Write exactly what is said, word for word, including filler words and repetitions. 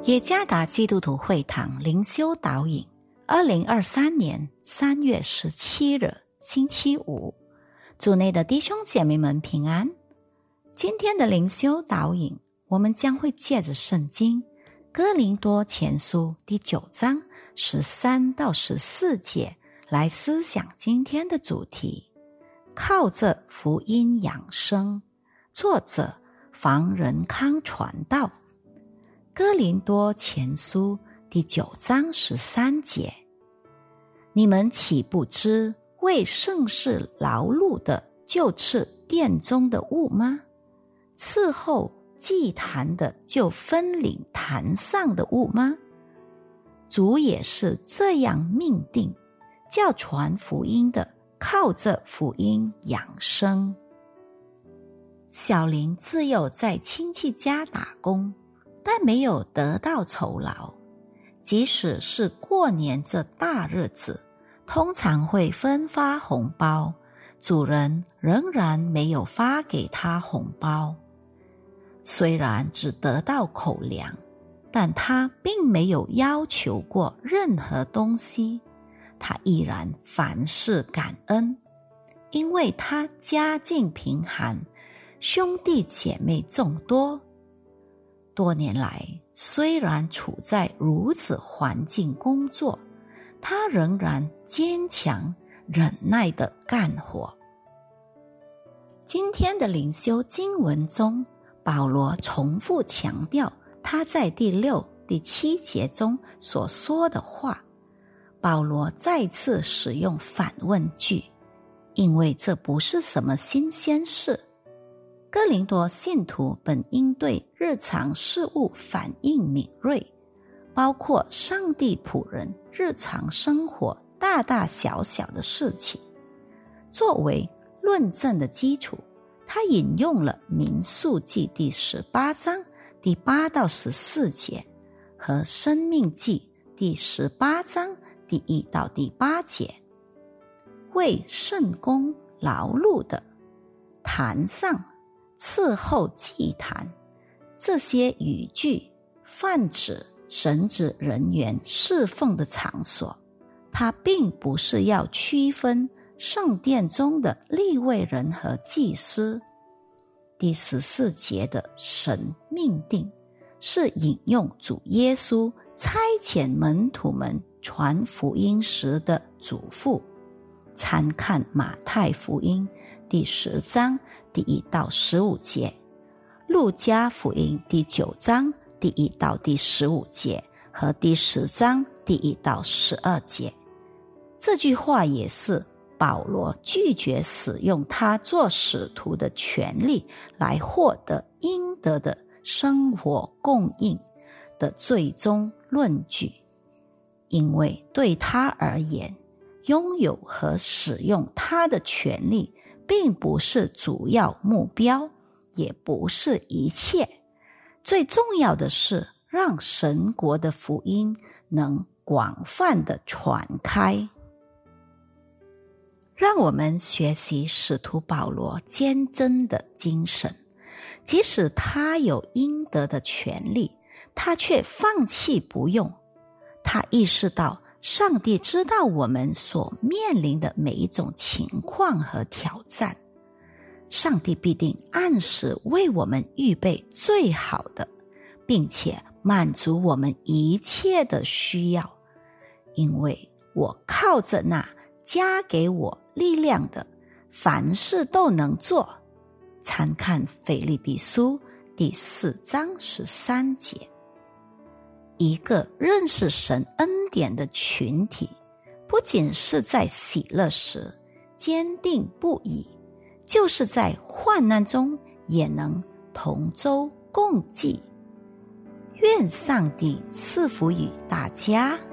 耶加达基督徒会堂灵修导引，二零二三年三月十七日，星期五。主内的弟兄姐妹们平安。今天的灵修导引，我们将会借着圣经哥林多前书第九章十三到十四节来思想今天的主题，靠着福音养生。作者房仁康传道。哥林多前书第九章十三节，你们岂不知为圣事劳碌的就是殿中的物吗？伺候祭坛的就分领坛上的物吗？主也是这样命定，叫传福音的靠着福音养生。小林自幼在亲戚家打工，但没有得到酬劳。即使是过年这大日子，通常会分发红包，主人仍然没有发给他红包。虽然只得到口粮，但他并没有要求过任何东西，他依然凡事感恩，因为他家境贫寒，兄弟姐妹众多。多年来，虽然处在如此环境工作，他仍然坚强忍耐地干活。今天的灵修经文中，保罗重复强调他在第六、第七节中所说的话。保罗再次使用反问句，因为这不是什么新鲜事。哥林多信徒本应对日常事物反应敏锐，包括上帝仆人日常生活大大小小的事情。作为论证的基础，他引用了民数记第十八章第八到十四节和申命记第十八章第一到第八节。为圣工劳碌的，坛上伺候祭坛，这些语句泛指神职人员侍奉的场所，它并不是要区分圣殿中的利未人和祭司。第十四节的神命定是引用主耶稣差遣门徒们传福音时的嘱咐，参看马太福音第十章第一到十五节，路加福音第九章第一到第十五节和第十章第一到十二节。这句话也是保罗拒绝使用他做使徒的权利来获得应得的生活供应的最终论据，因为对他而言，拥有和使用他的权利并不是主要目标，也不是一切。最重要的是让神国的福音能广泛地传开。让我们学习使徒保罗坚贞的精神，即使他有应得的权利，他却放弃不用。他意识到上帝知道我们所面临的每一种情况和挑战，上帝必定按时为我们预备最好的，并且满足我们一切的需要，因为我靠着那加给我力量的，凡事都能做。参看腓立比书第四章十三节。一个认识神恩典的群体，不仅是在喜乐时坚定不移，就是在患难中也能同舟共济。愿上帝赐福于大家。